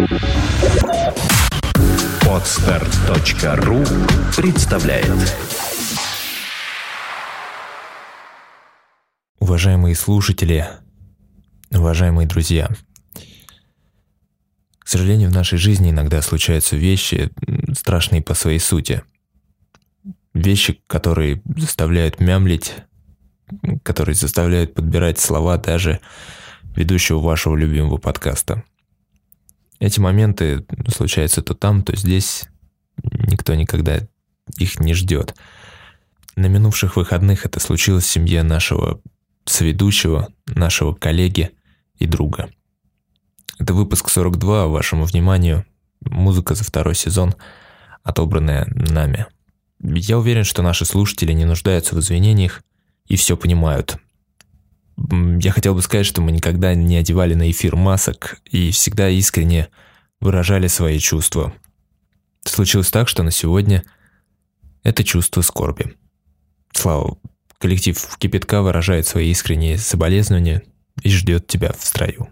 Podster.ru представляет. Уважаемые слушатели, уважаемые друзья, к сожалению, в нашей жизни иногда случаются вещи, страшные по своей сути. Вещи, которые заставляют мямлить, которые заставляют подбирать слова даже ведущего вашего любимого подкаста. Эти моменты случаются то там, то здесь. Никто никогда их не ждет. На минувших выходных это случилось в семье нашего соведущего, нашего коллеги и друга. Это выпуск 42, вашему вниманию музыка за второй сезон, отобранная нами. Я уверен, что наши слушатели не нуждаются в извинениях и все понимают. Я хотел бы сказать, что мы никогда не одевали на эфир масок и всегда искренне выражали свои чувства. Случилось так, что на сегодня это чувство скорби. Слава, коллектив «Кипятка» выражает свои искренние соболезнования и ждет тебя в строю.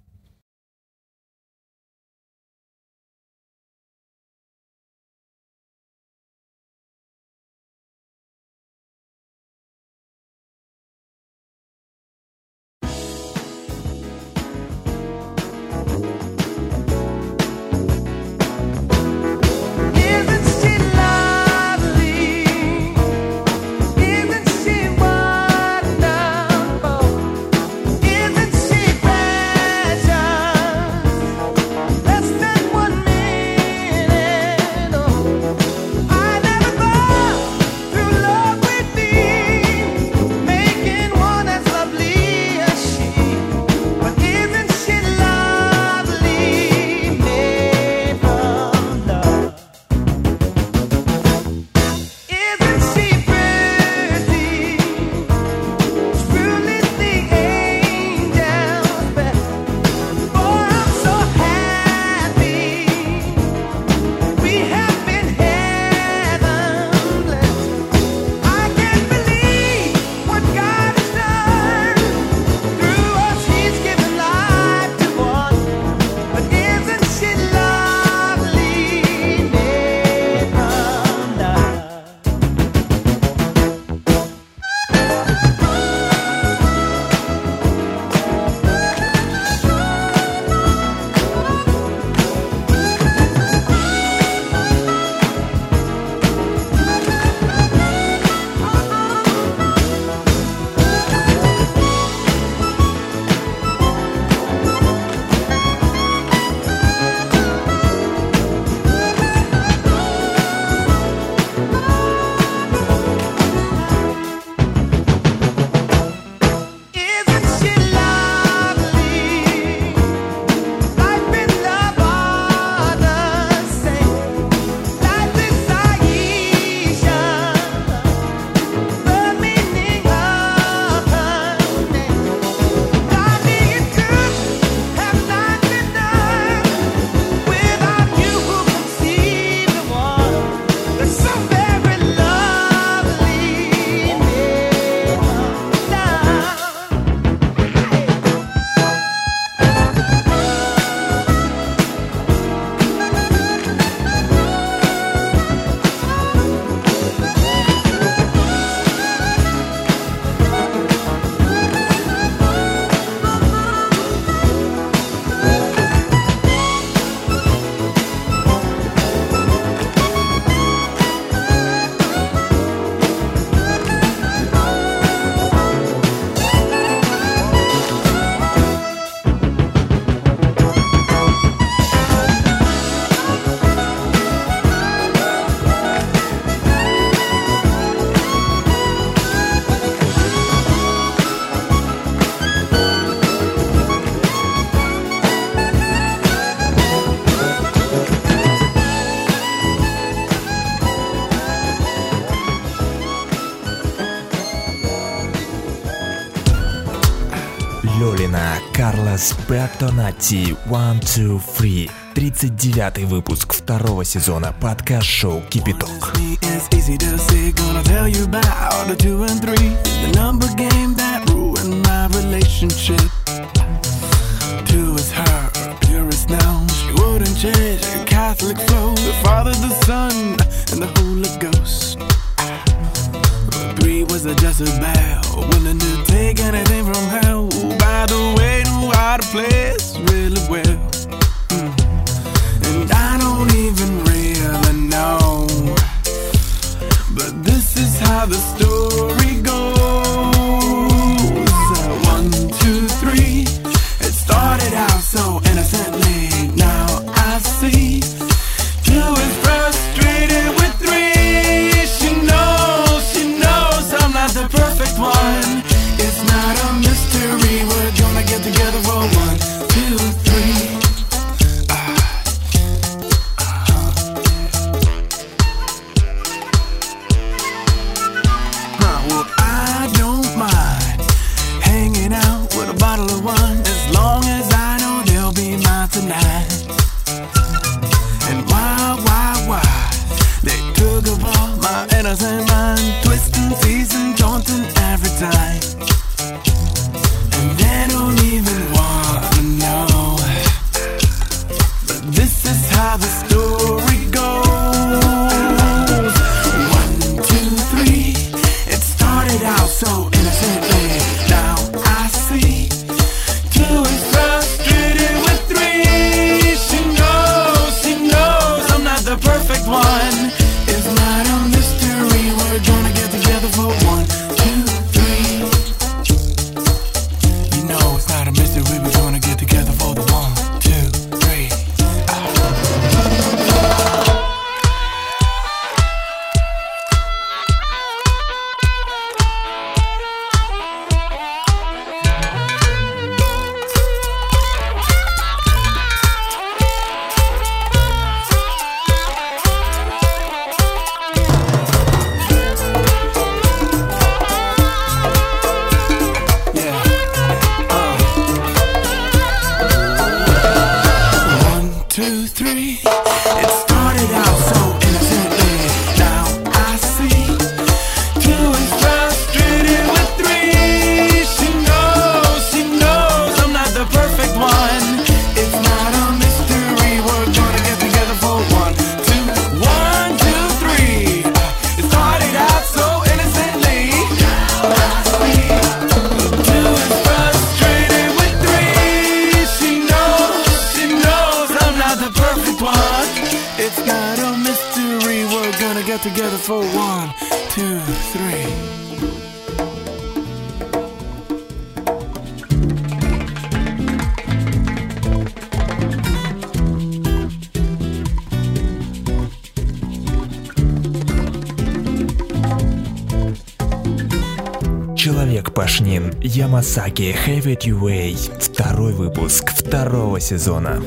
Лёлина, Карлос Бертонатти, 1, 2, 3. 39-й выпуск второго сезона подкаст-шоу «Кипяток». Two is her, purest now. She wouldn't Catholic flow, the Father, the Son, and the Holy Ghost. Three was a Jezebel, willing to take anything from hell. By the way, knew how to play this really well. And I don't even really know, but this is how the story goes. 1, 2, 3. It started out so innocently. Now I see 2 is frustrated with 3. She knows I'm not the perfect one. It's not a mystery. We're gonna get together for 1, 2, 3. Well, I don't mind hanging out with a bottle of wine, as long as I know they'll be mine tonight. And why they took up all my innocent mind, twisting, teasing, taunting every time. And they don't even wanna know, but this is how the story goes. 1, 2, 3. It started out so innocently. Now I see 2 is frustrated with 3. She knows I'm not the perfect one. It's not a mystery. We're gonna get together for 1, 2, 3. You know it's not a mystery. We're gonna get together for the 1, 2, 3. Yeah. 1, 2, 3. It started out so innocently. Now I see 2 is frustrated with 3. She knows I'm not the perfect one. It's not a mystery. We're gonna get together for 1, 2, 1, 2, 3. It started out so innocently. Now I see 2 is frustrated with 3. She knows I'm not the perfect one. It's not a mystery. We're gonna get together for 1, 2, 3. Человек-пашнин, Ямасаки, Have It Your Way. 2-й выпуск 2-го сезона.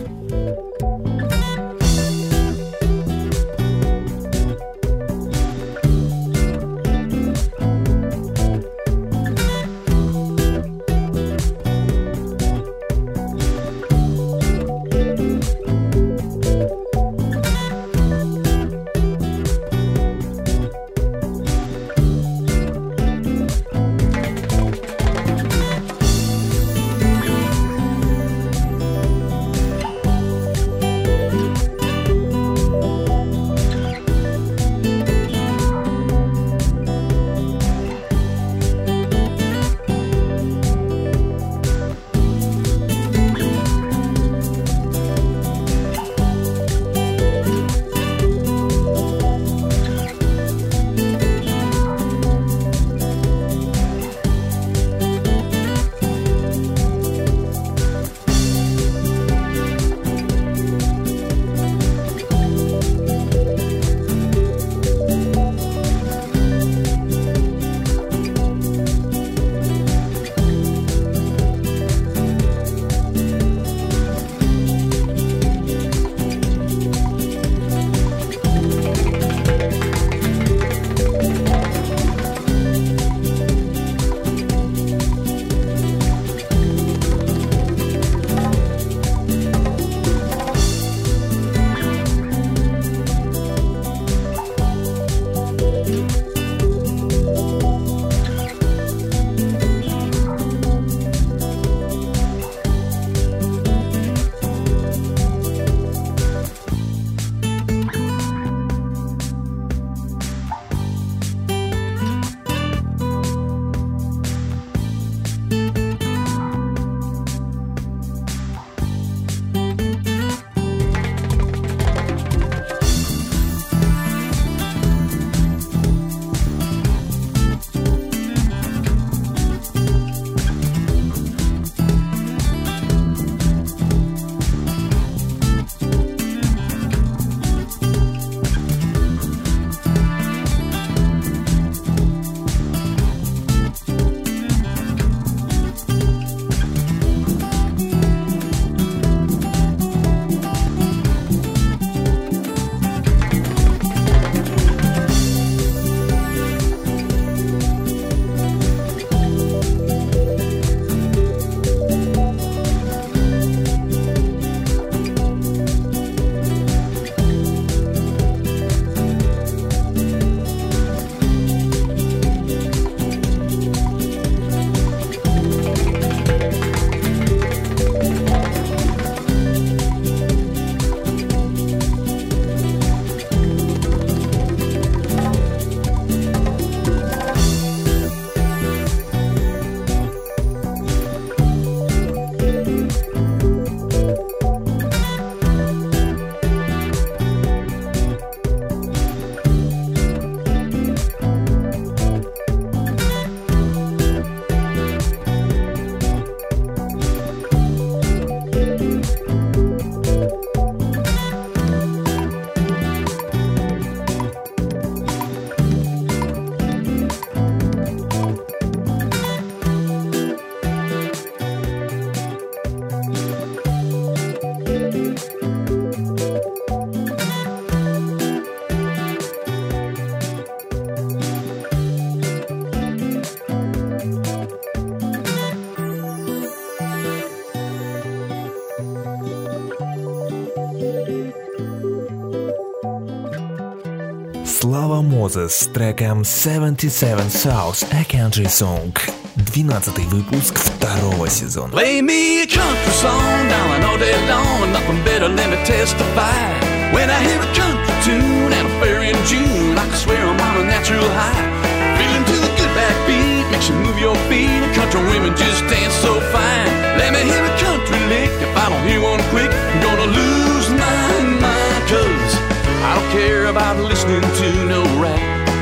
Слава Мозес с треком 77 South, A Country Song. 12-й выпуск 2-го сезона. Play me a country song, darling, all day long. Nothing better, let me testify. When I hear a country tune and a fair in June, I can swear I'm on a natural high. Feeling to the good backbeat makes you move your feet, and country women just dance so fine. Let me hear a country lick. If I don't hear one quick, I'm gonna lose my mind. 'Cause I don't care about listening to no rap.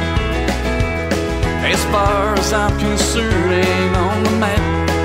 As far as I'm concerned, ain't on the map.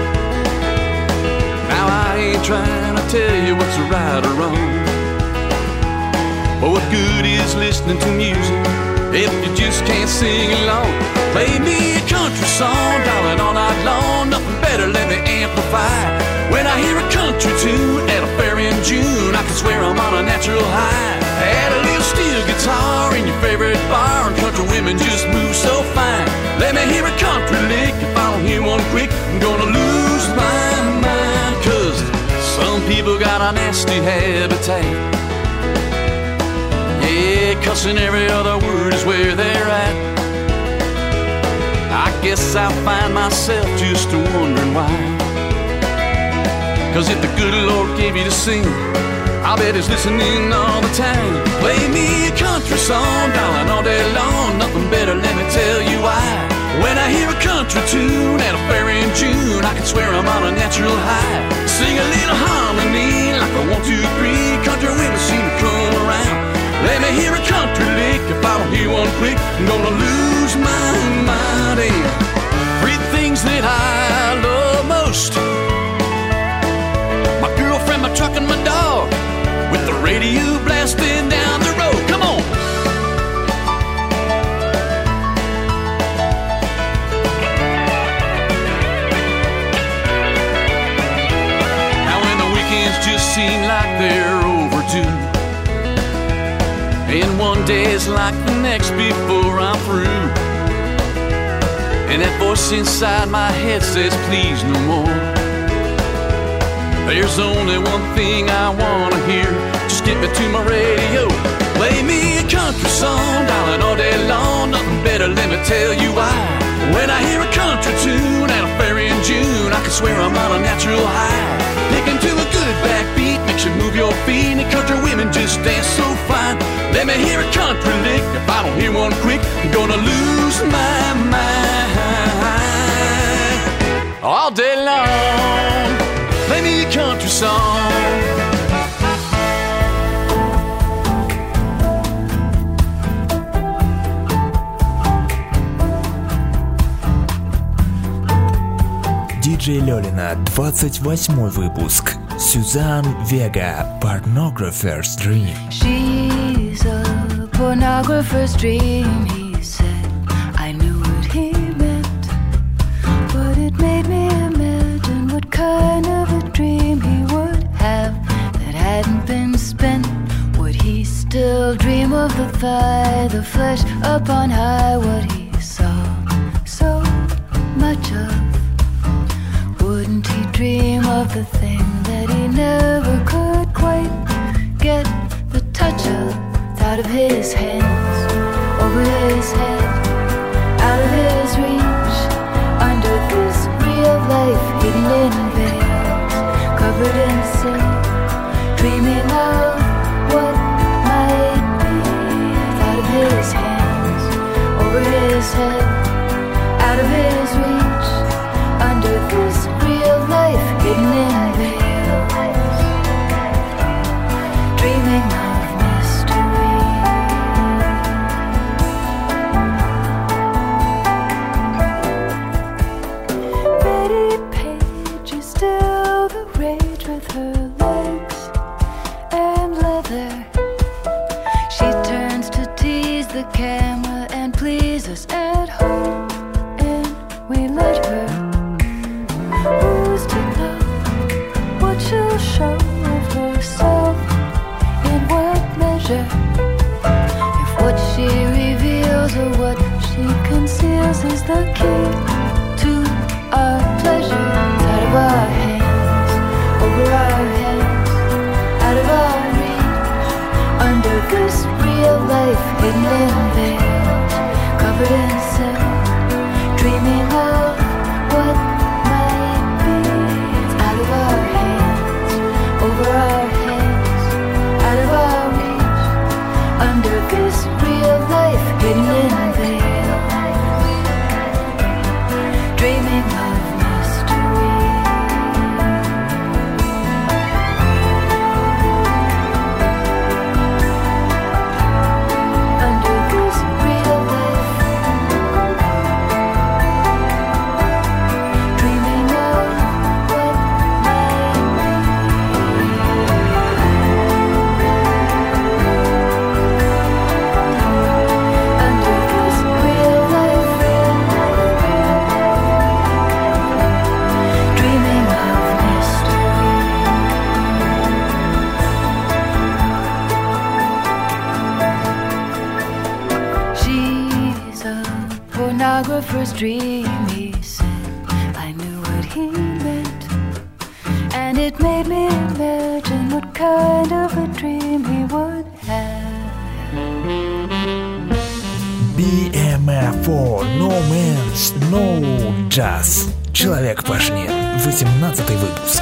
Now I ain't trying to tell you what's right or wrong, but what good is listening to music if you just can't sing along? Play me a country song, darling, all night long. Nothing better, let me amplify. When I hear a country tune at a fair in June, I can swear I'm on a natural high. Add a little steel guitar in your favorite bar, and country women just move so fine. Let me hear a country lick. If I don't hear one quick, I'm gonna lose my mind. 'Cause some people got a nasty habitat. Yeah, cussing every other word is where they're at. I guess I find myself just wondering why. 'Cause if the good Lord gave you to sing, I bet he's listening all the time. Play me a country song, darling, all day long. Nothing better, let me tell you why. When I hear a country tune at a fair in June, I can swear I'm on a natural high. Sing a little harmony like a 1, 2, 3. Country women seem to come around. Let me hear a country lick. If I don't hear one quick, I'm gonna lose my mind. And 3 things that I love most: my girlfriend, my truck, and my dog, with the radio blasting down the road. Come on. Now when the weekends just seem like they're overdue, and one day is like the next before I'm through, and that voice inside my head says please no more, there's only one thing I wanna hear. Just get me to my radio. Play me a country song, darling, all day long. Nothing better, let me tell you why. When I hear a country tune at a fair in June, I can swear I'm on a natural high. Picking to a good backbeat makes you move your feet, and country women just dance so fine. Let me hear a country lick. If I don't hear one quick, I'm gonna lose my mind. All day long, play me a country song. Диджей Лёлина, 28-й выпуск. Сюзан Вега, Pornographer's Dream. She's a pornographer's dream, he said. I knew what he meant, but it made me imagine what kind of a dream he would have that hadn't been spent. Would he still dream of the thigh, the flesh up on high, what he saw so much of? Wouldn't he dream of the thing that he never could quite get the touch of? Out of his hands, over his head, out of his reach, under this real life, hidden in veils, covered in sin, dreaming of what might be. Out of his hands, over his head, out of his reach, under this real life, hidden in veils, dreaming of mystery. Betty Page is still the rage with her legs and leather. She turns to tease the camera and please us at home, and we let her. Who's to know what she'll show of herself, in what measure? If what she reveals or what she conceals is the key to our pleasure. Out of our hands, over our heads, out of our reach, under this real life hidden in veils. pornographer's dream, he said. I knew what he meant, and it made me imagine what kind of a dream he would have. BMFO, No Man's No Jazz. Человек пашни. 18-й выпуск.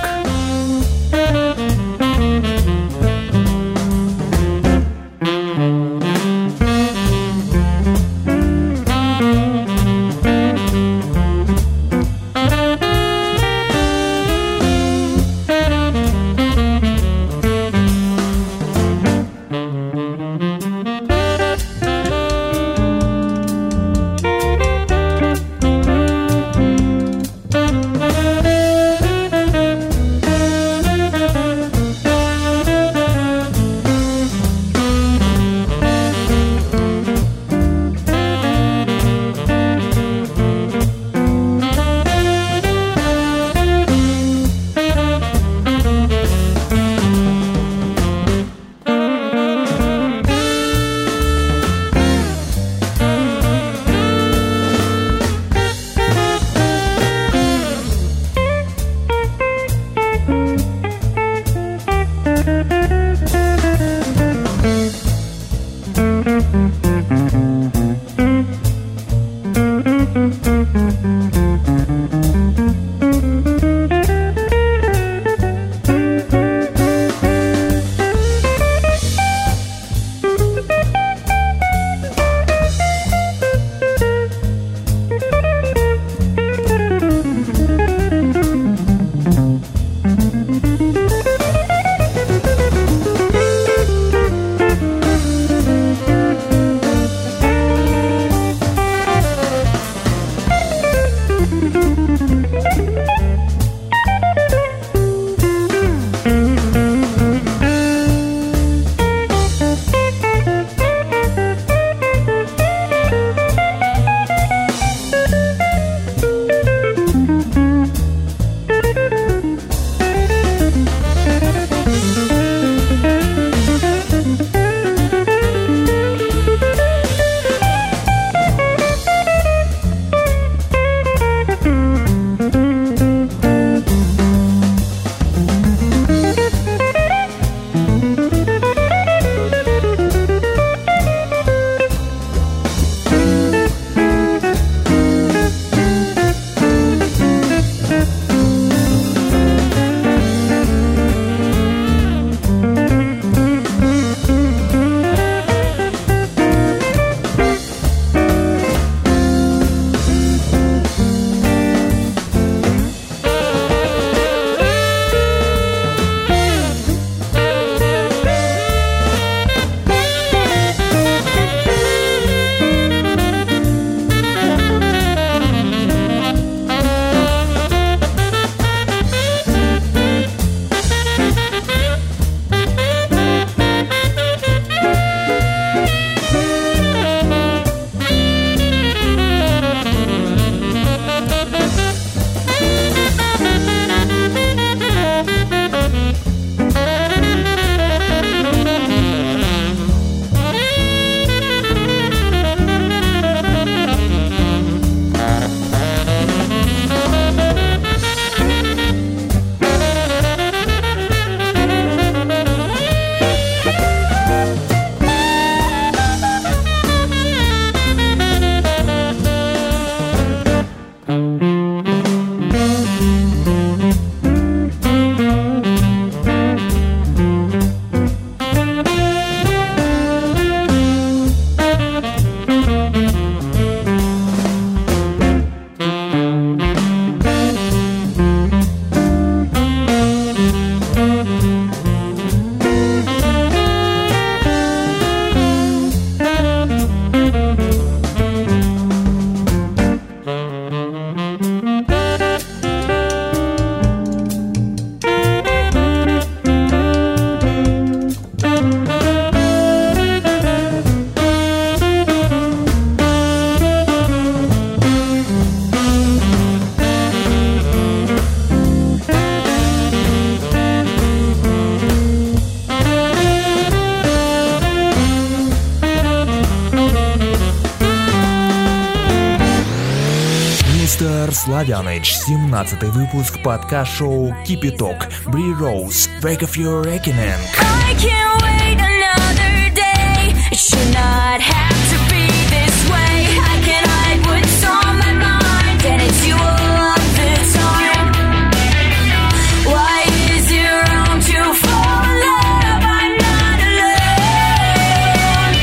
Славяныч, 17-й выпуск подкаст-шоу Keep It Talk, Brie Rose, Break of Your Reckoning. I can't wait another day. It should not have to be this way. I can hide what's on my mind, and it's you all of the time. Why is it wrong to fall in love? I'm not alone.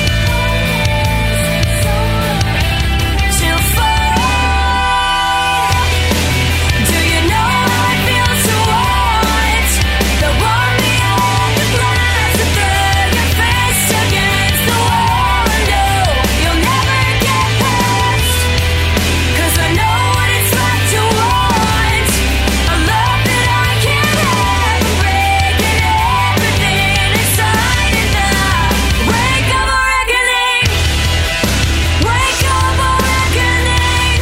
To fall. Do you know how it feels to want the one beyond the glass to throw your fist against the wall? No, you'll never get past. 'Cause I know what it's like to want a love that I can't have, breaking everything inside in the wake of a reckoning. Wake of a reckoning.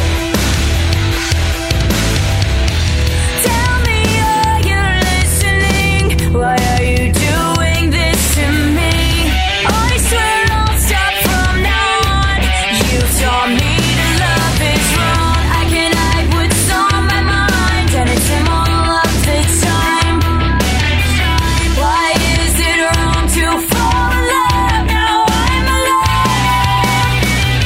Tell me, are you listening? Why are you doing this to me? I swear I'll stop from now on. You taught me to love is wrong. I can hide what's on my mind, and it's him all of the time. Why is it wrong to fall in love? Now I'm alone.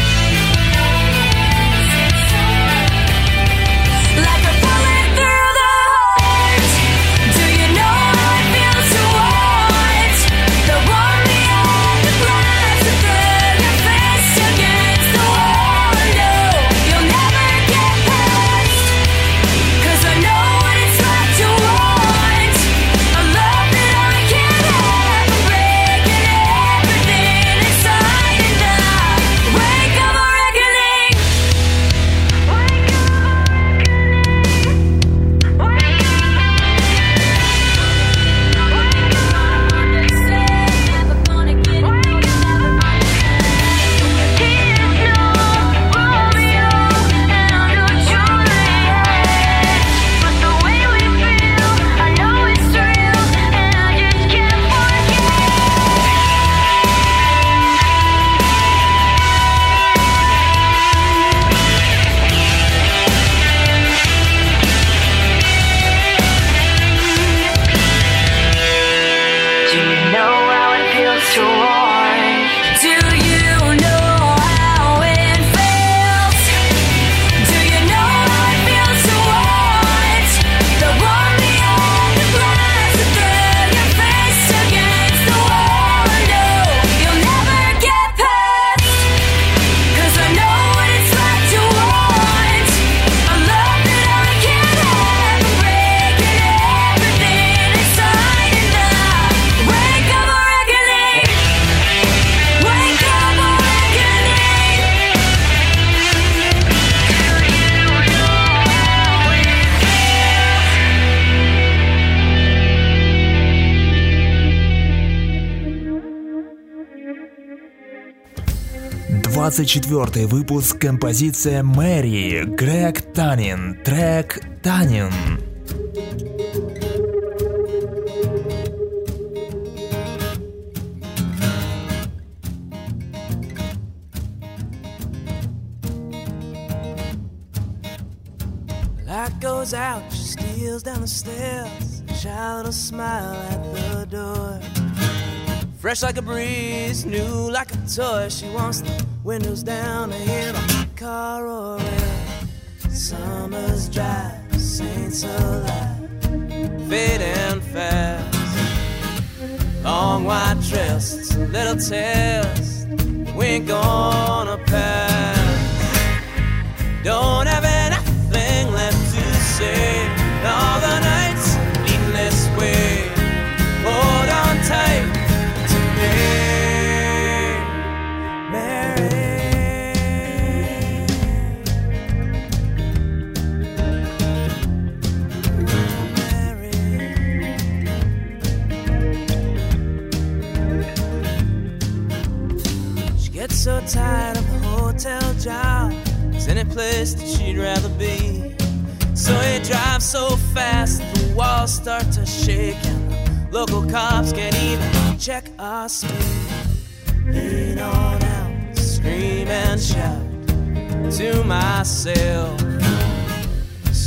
Like a bullet through the heart. Do you know how it feels to want the one beyond the glass to throw your fist against the wall? No, you'll never get past. 'Cause I know what it's like to want a love that I can't have, breaking everything inside in the wake of a reckoning. Wake of a Do you know how it feels to want? Do you know how it feels? Do you know how it feels to want the one beyond the glass to throw your fist against the wall? No, you'll never get past. 'Cause I know what it's like to want a love that I can't have, breaking everything inside in the wake of a reckoning. Wake of a reckoning. Do you know how it feels? 24-й выпуск, композиция Мэри, Грег Танин, трек Танин. Light goes out, she steals down the stairs, child a smile at the door. Fresh like a breeze, new like a toy. She wants the windows down to hear the car roaring. Summer's dry, saints alive, fading fast. Long white dress, little tales, we ain't gonna pass. Don't have anything left to say. All the nights leading this way. Hold on tight to me, Mary. She gets so tired of the hotel job. There's any place that she'd rather be. So he drives so fast that the walls start to shake, and the local cops can't even check our speed. Lean on out, scream and shout to myself.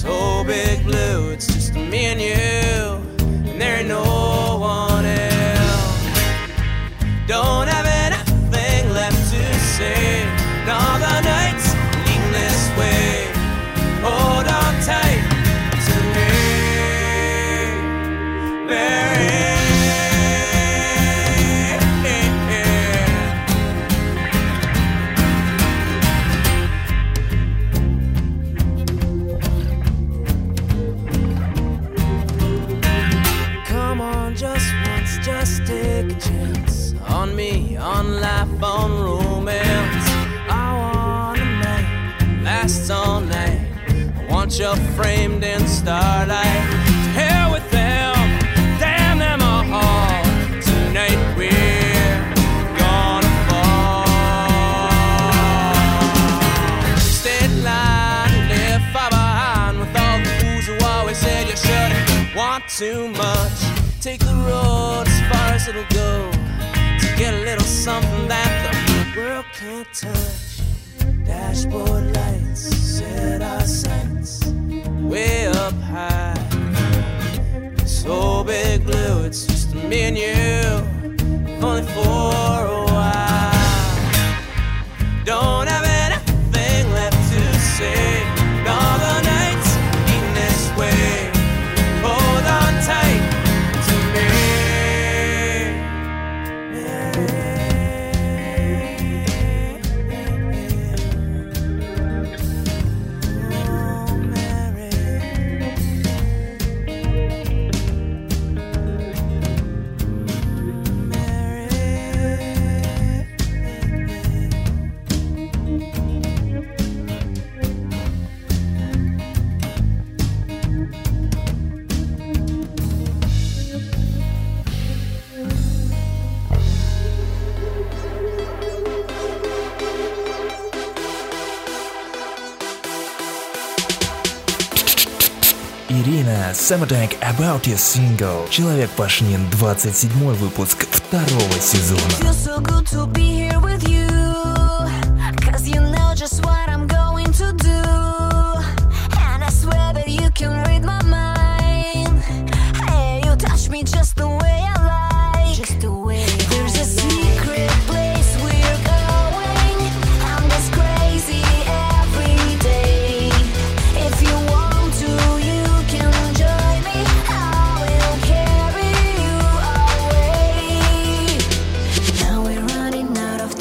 So big blue, it's just me and you, and there ain't no one else. Don't have anything left to say, and all the nights leading this way. Hold on tight to me, Mary. Come on, just once, just take a chance on me, on life, on romance. I want a night, lasts all night. I want you framed in starlight. To hell with them, damn them all. Tonight we're gonna fall. State line, live far behind with all the fools who always said you shouldn't want too much. Take the road as far as it'll go to get a little something that the world can't touch. Dashboard lights set our sights way up high. So big blue, it's just me and you, only for a while. Don't have anything left to say, and all the nights leading this way. Hold on tight to me. Ирина, Summertime About Your Single. Человек-пашнин, 27-й выпуск второго сезона. Feels so good to be here with you, 'cause you know just what I'm going to do. And I swear that you can read my mind. Hey, you touch me just the way I like. Just the way there's a secret place we're going. I'm just crazy every day. If you want to, you can join me. I will carry you away. Now we're running out of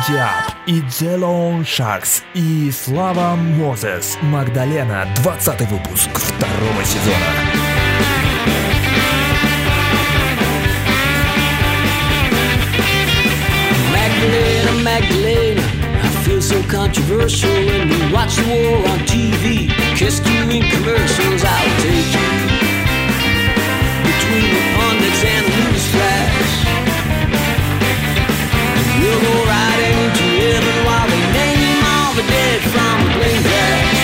Диаб и The Lone Sharks и Слава Мозес, Магдалена, 20-й выпуск 2-го сезона. Magdalena, Magdalena, I feel so controversial when we watch the war on TV. Kissed you in commercials, I'll take you between the pundits and the news flash. We'll go riding into heaven while they name all the dead from the plane crash.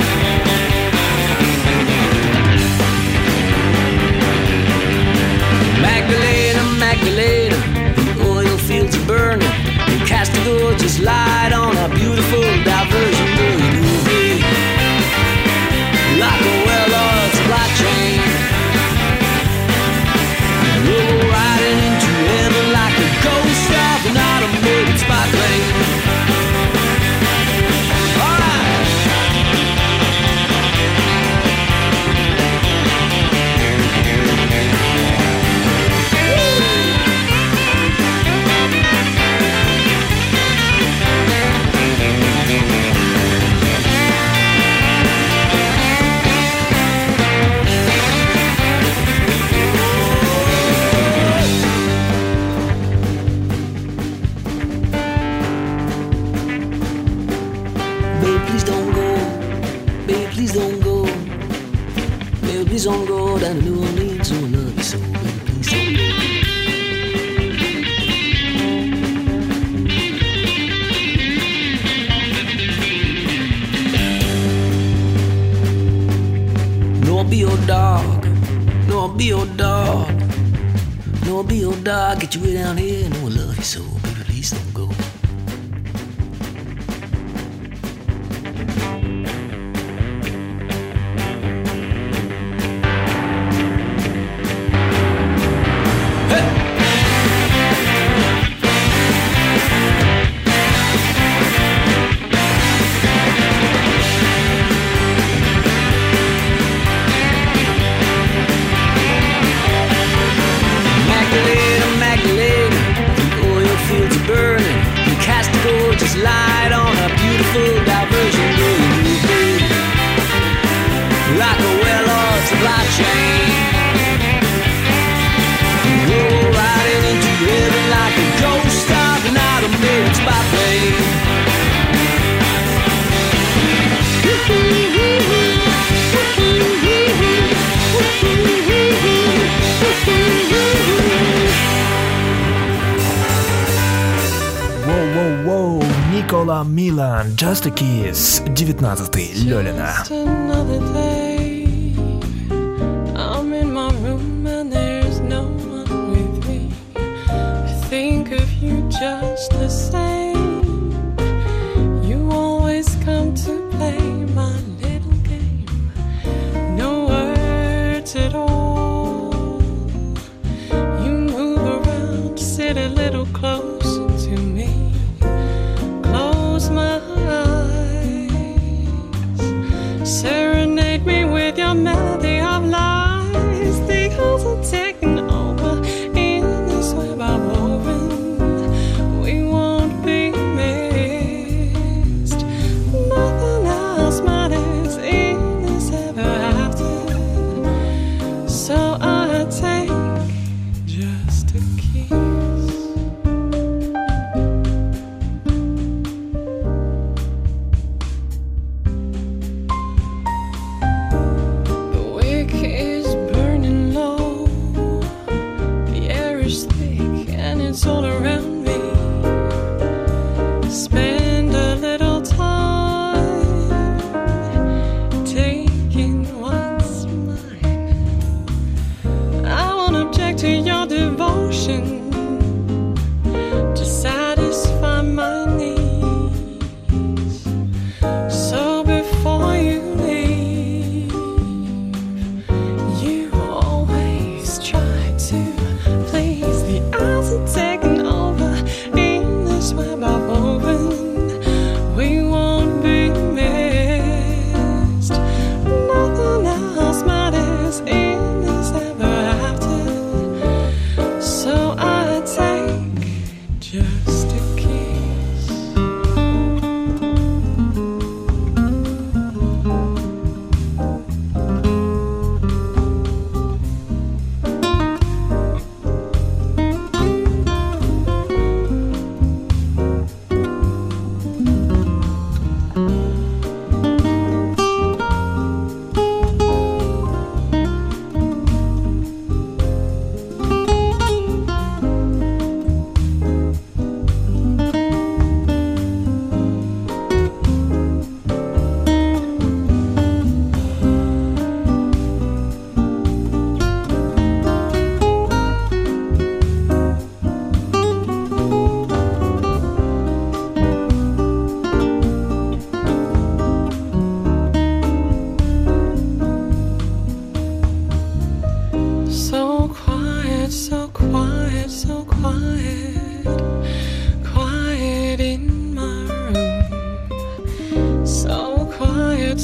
Magdalena, Magdalena, the oil fields are burning. Cast a gorgeous light on a beautiful diversion movie, like a well-oiled supply chain. We'll go riding into heaven like a ghost of an automated spy plane. All right. Please don't go down to New Orleans, oh, I love you so, baby, please don't go. No, I'll be your dog, no, I'll be your dog, no, I'll be your dog, get you way down here, no, I love you so, baby, please don't go. Light on a beautiful diversion movie, like a well-oiled supply chain. We'll go riding into heaven like a ghost of an automated spy plane. Воу-воу-воу, Никола Милан, Just a Kiss, 19-й, Лёлина. Just another day. I'm in my room and there's no one with me. I think of you just the same. You always come to play my little game. No words at all. You move around, sit a little closer to me. Close my eyes, serenade me with your melody of lies. The hills are taking over in this web I'm woven. We won't be missed. Nothing else matters in this ever after. So I take just a kiss. The wick is burning low. The air is thick and it's all around me. Spend a little time taking what's mine. I won't object to your devotion to satisfy my needs. So before you leave, you always try to please. The eyes are taking over in this web I've woven. We won't be missed. Nothing else matters in this ever after. So I take just a kiss.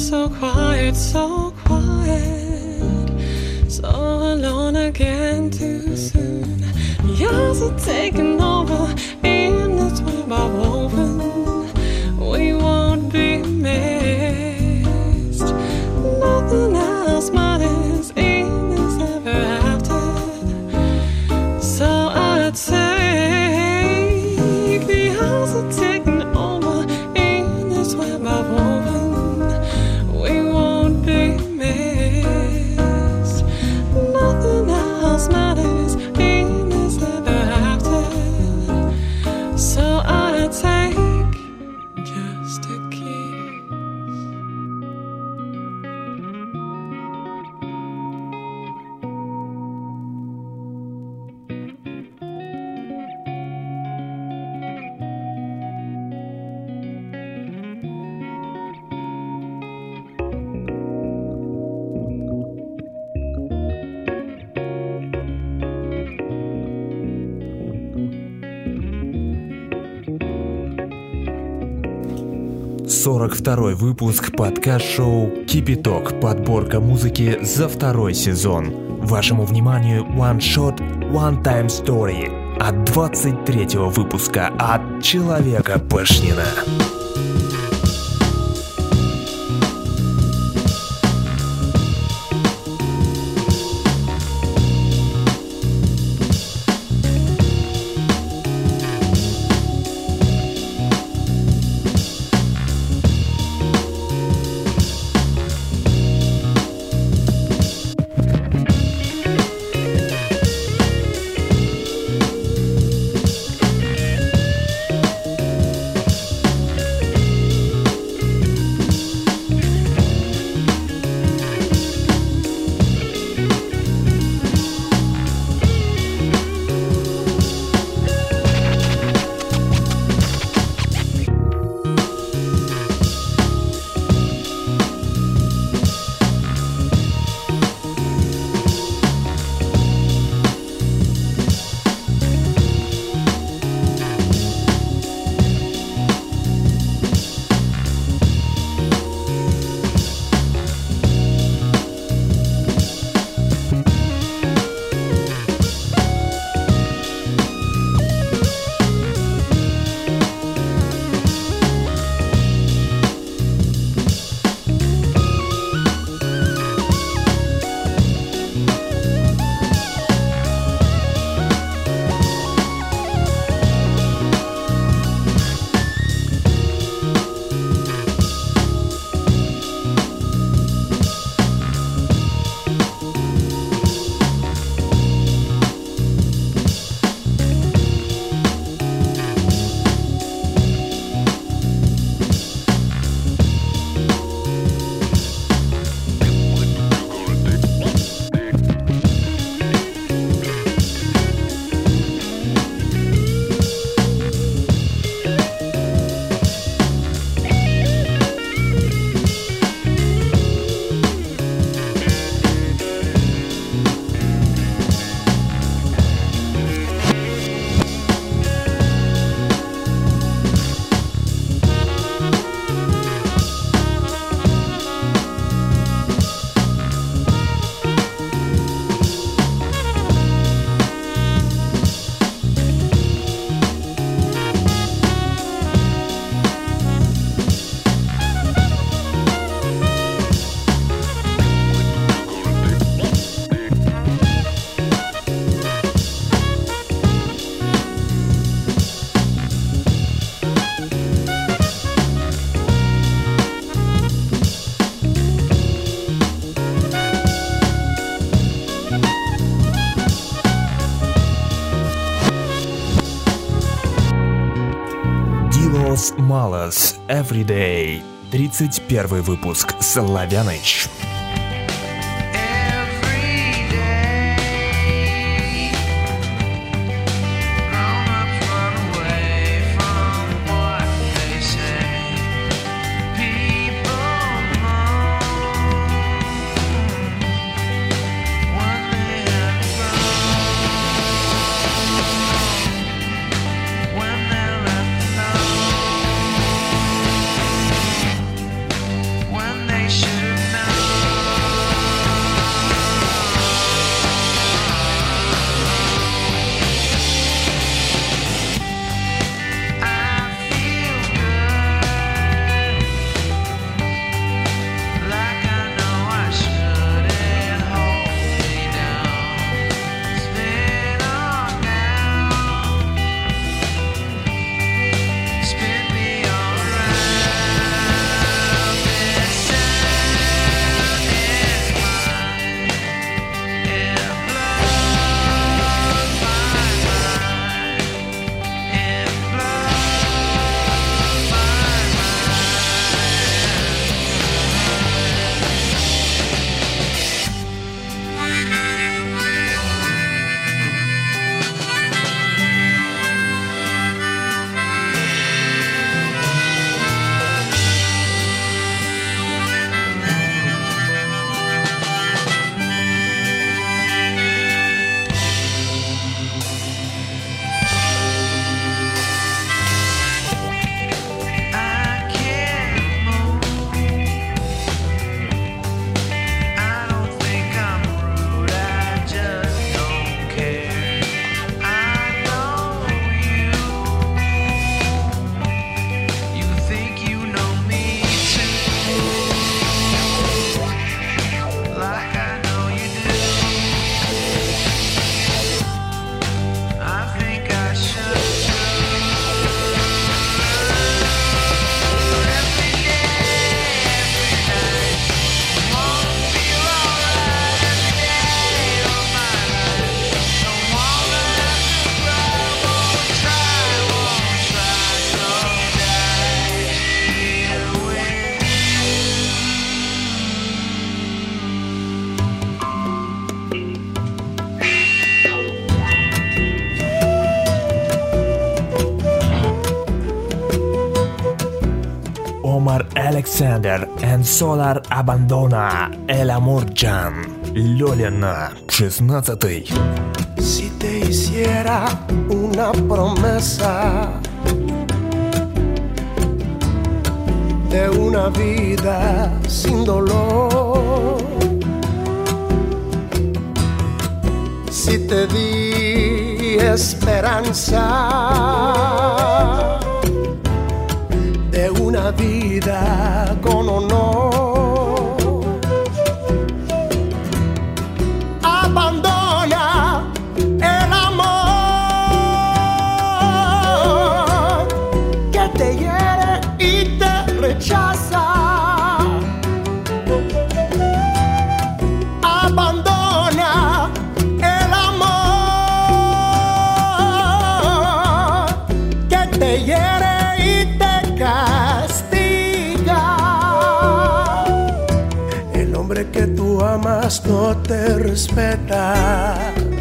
so quiet, so quiet, so alone again too soon. Yours are taking over in this web I've woven. We won't be missed. Nothing else matters in this ever after. So I'd take the hours are taking over in this web I've woven. We won't be missed. Nothing else matters in this ever after. So I'd take just a kiss. Сорок второй выпуск подкаст-шоу «Кипяток». Подборка музыки за второй сезон. Вашему вниманию One Shot, One Time Story от 23-го выпуска от Человека Пашнина. Los Malos Everyday. 31 выпуск. Славяныч. They Omar Alexander and Solar Abandona, El Amor Jan, Lolina, 16-й. Si te hiciera una promesa de una vida sin dolor, si te di esperanza de una vida con honor, abandona el amor que te hiere y te rechaza. Abandona el amor que te hiere y te castiga. El hombre que tú amas no te respeta,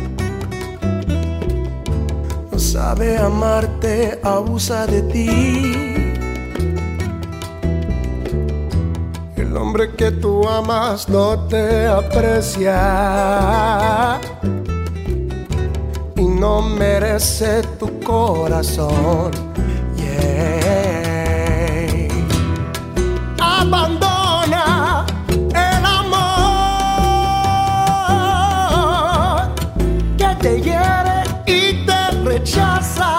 no sabe amarte, abusa de ti. El hombre que tú amas no te aprecia y no merece tu corazón. Yeah. Abandona el amor que te hiere y te rechaza.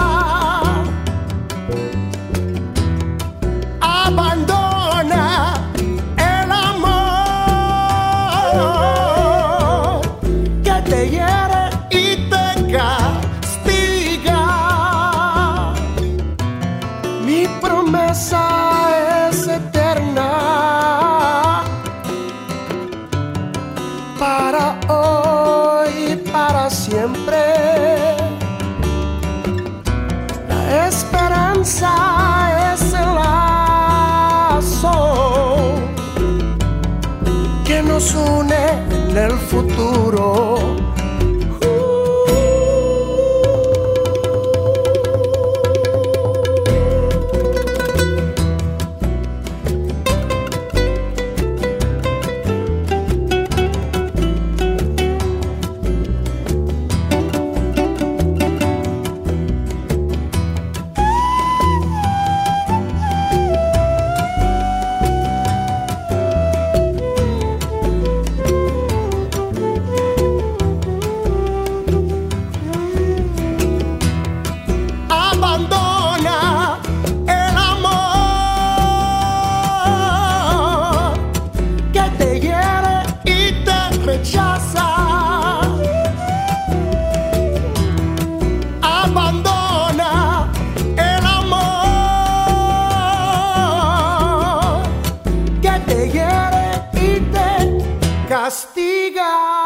Abandona el amor que te hiere y te castiga. Mi promesa es eterna para hoy y para siempre. La esperanza es el lazo que nos une en el futuro. Abandona el amor que te hiere y te rechaza. Abandona el amor que te hiere y te castiga.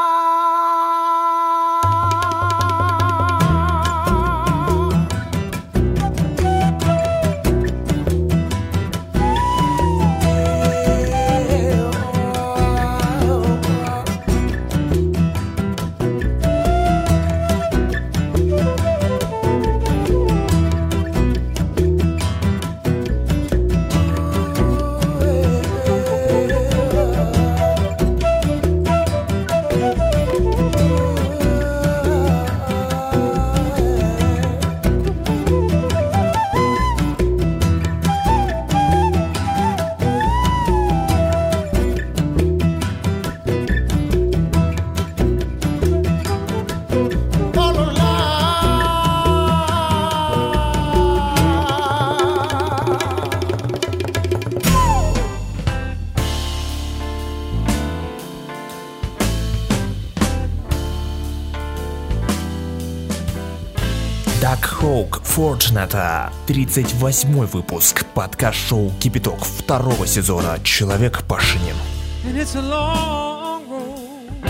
Duck Hawk Fortunata, 38-й выпуск, подкаст-шоу «Кипяток» 2-го сезона «Человек Пашинин». And it's a long road.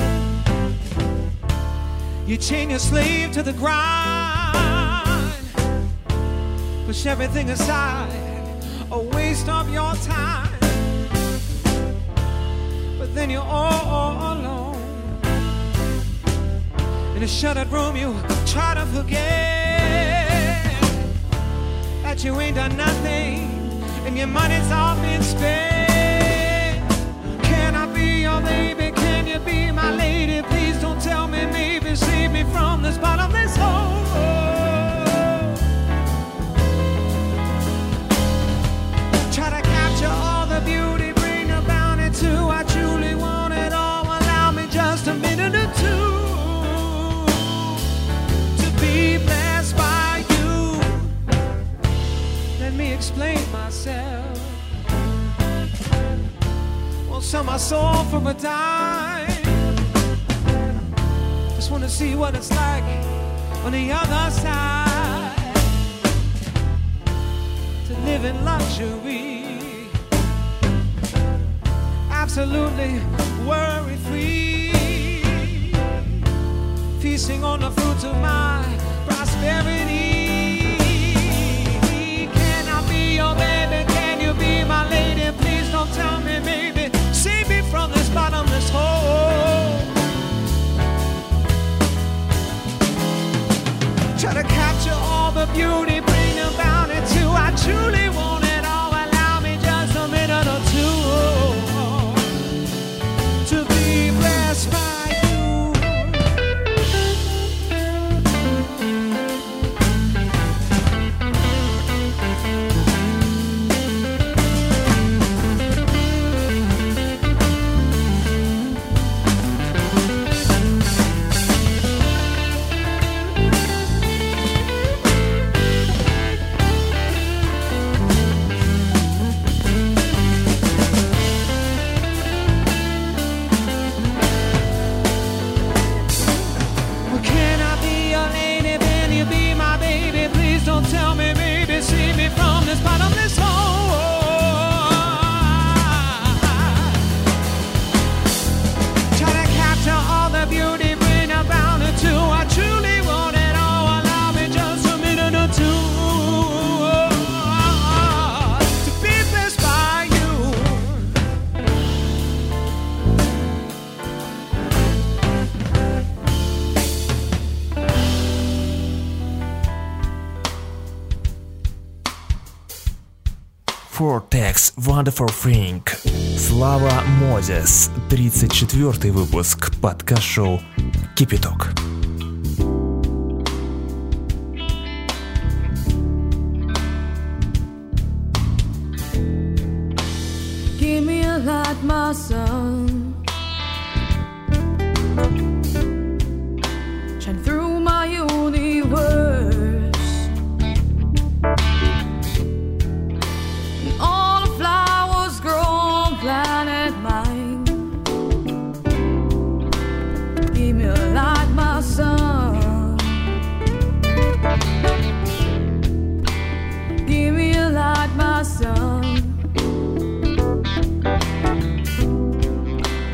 You chain your slave to the grind, push everything aside, a waste of your time. But then you're all alone in a shuttered room. You try to forget that you ain't done nothing and your money's all been spent. Can I be your baby? Can you be my lady? Please don't tell me maybe, save me from this bottomless hole. Try to capture all the beauty, bring the bounty too. I truly want it all. Allow me just a minute or two to be blessed by you. Let me explain myself. Won't sell my soul for a dime. Just wanna see what it's like on the other side. To live in luxury, absolutely worry-free, feasting on the fruits of my prosperity. Can I be your baby? Can you be my lady? Please don't tell me maybe, save me from this bottomless hole. Try to capture all the beauty, bring about it too. I truly want it all. Allow me just a minute or two to be blessed by you. Can I be your lady? Can you be my baby? Please don't tell me maybe, save me from this bottomless hole. Try to capture all the beauty, bring about it too. I truly want it all. Allow me just a minute or two to be blessed by you. Vortex Wonderful Thing. Слава Мозес. 34-й выпуск подкаст-шоу Кипяток. Give me a light, my son. Shine through my universe. And all the flowers grow on planet mine. Give me a light, my son. Give me a light, my son.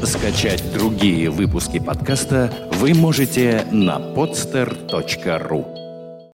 Скачать другие выпуски подкаста вы можете на podster.ru.